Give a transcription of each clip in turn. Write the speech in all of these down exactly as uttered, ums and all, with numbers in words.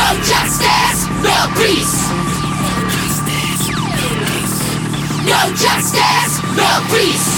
justice, no peace. No justice, no peace.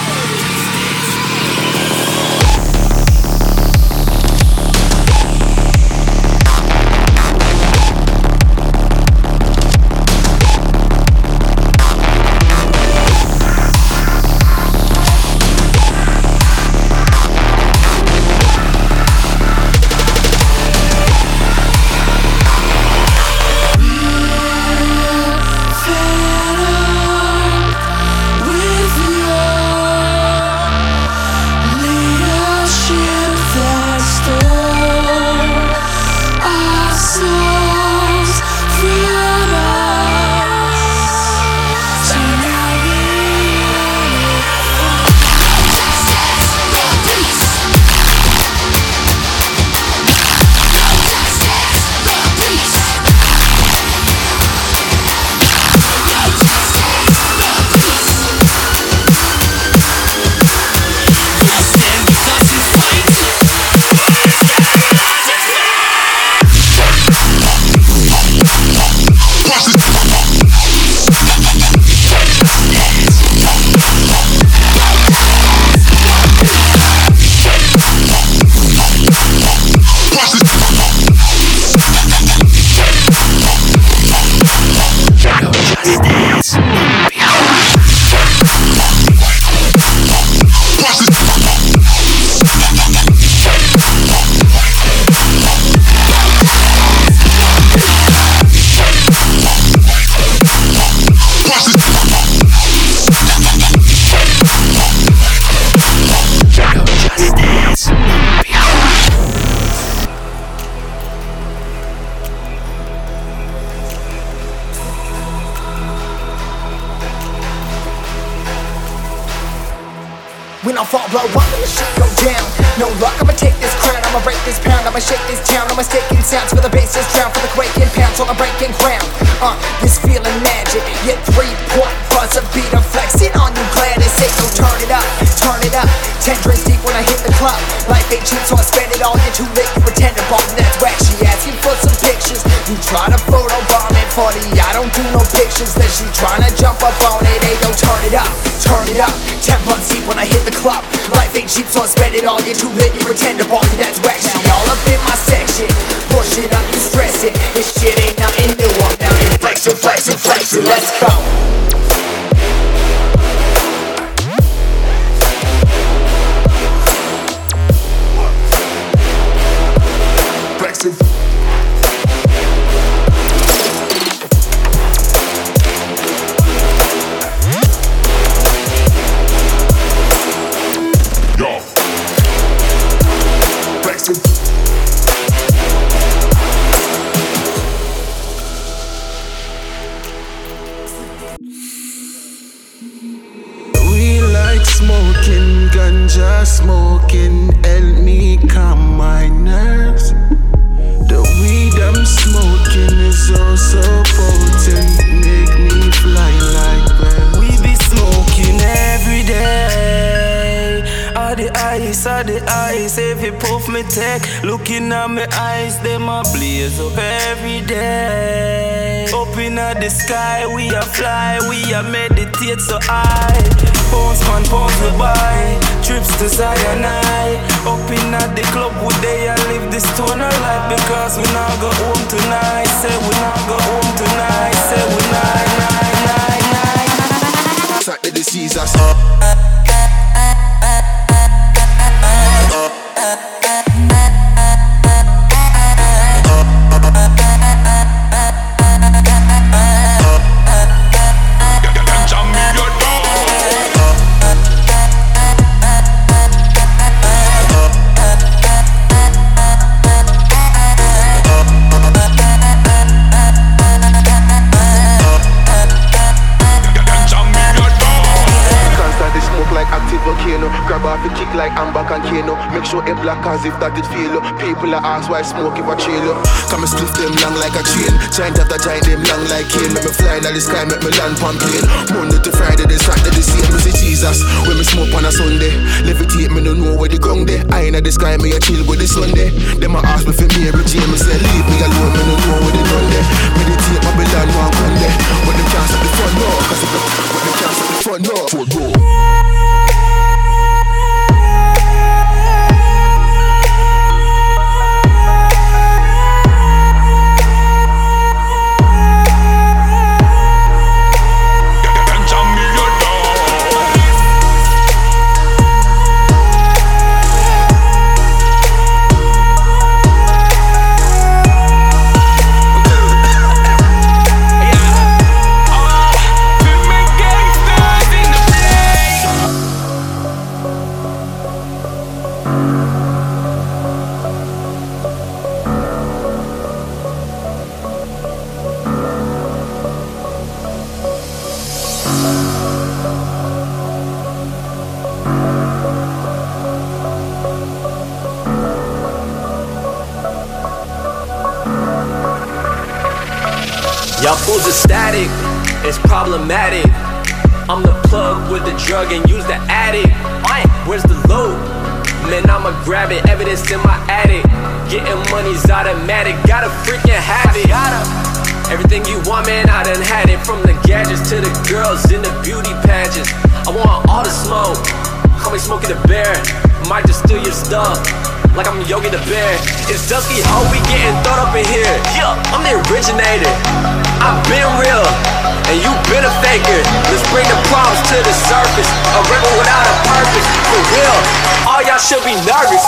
When I fall, blow up and the shit go down. No luck, I'ma take this crown, I'ma break this pound, I'ma shake this town. I'm mistaking sounds for the bases drown, for the quaking pounds on the breaking ground. Uh, this feeling magic, yeah, three-point buzzer beater flexing on you, glad to say so. Turn it up, turn it up. Ten drinks deep when I hit the club. Life ain't cheap, so I spend it all. You're too late, you pretend to bomb. That's whack. She asking for some pictures. You try to photobomb it for the I don't do no pictures. Then she tryna jump up on it. Hey, yo, turn it up, turn it up. Ten months deep when I hit the club. Life ain't cheap, so I spend it all. You're too late, you pretend to bomb. That's whack. She all up in my section. Push it up, you stress it. This shit ain't nothing new. I'm down here flexing, flexing, flexing. Let's go. Smoking, ganja smoking, help me calm my nerves. The weed I'm smoking is also potent, make me fly like birds. We be smoking every day. All the ice, all the ice, every puff me take. Looking at my eyes, them a blaze up every day. Up in the sky, we a fly, we a meditate so high. Pounds man, pounds we buy. Trips to Zion I. Up in at the club we day and live this stoner life. Because we not go home tonight. Say we not go home tonight. Say we night, night, night, night. Saturday the Caesars. Grab off a kick like Amber and Kano. Make sure it black as if that it feel. People are ask why I smoke if I chill. Come and split them long like a chain. Giant after giant them long like cane. Make me fly in the sky, make me land pan plane. Monday to Friday, then Saturday the same. Me say Jesus, when me smoke on a Sunday. Levitate, me no know where the ground there. I in the sky, me a chill with the Sunday. Them a ask me for Mary Jane. Me say leave me alone, me no Y'all fools are static, it's problematic. I'm the plug with the drug and use the addict. Where's the load? Man, I'ma grab it, evidence in my attic. Getting money's automatic, gotta freaking have it. Everything you want, man, I done had it. From the gadgets to the girls in the beauty pageants. I want all the smoke, call me Smokey the Bear. Might just steal your stuff, like I'm Yogi the Bear. It's dusky, ho, we getting thrown up in here. Yeah, I'm the originator, I've been real, and you been a faker. Let's bring the problems to the surface. A rebel without a purpose, for real. All y'all should be nervous.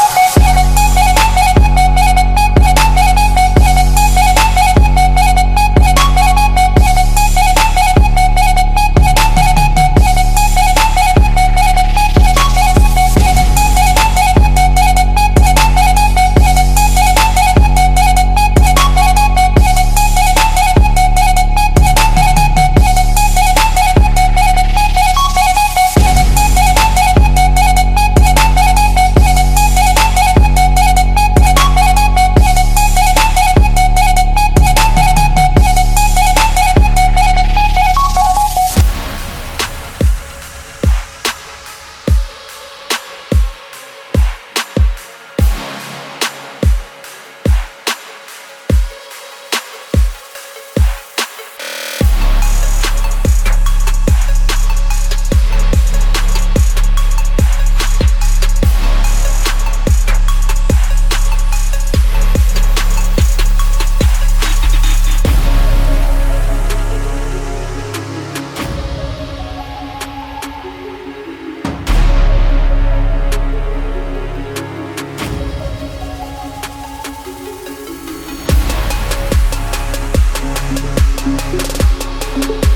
Thank you.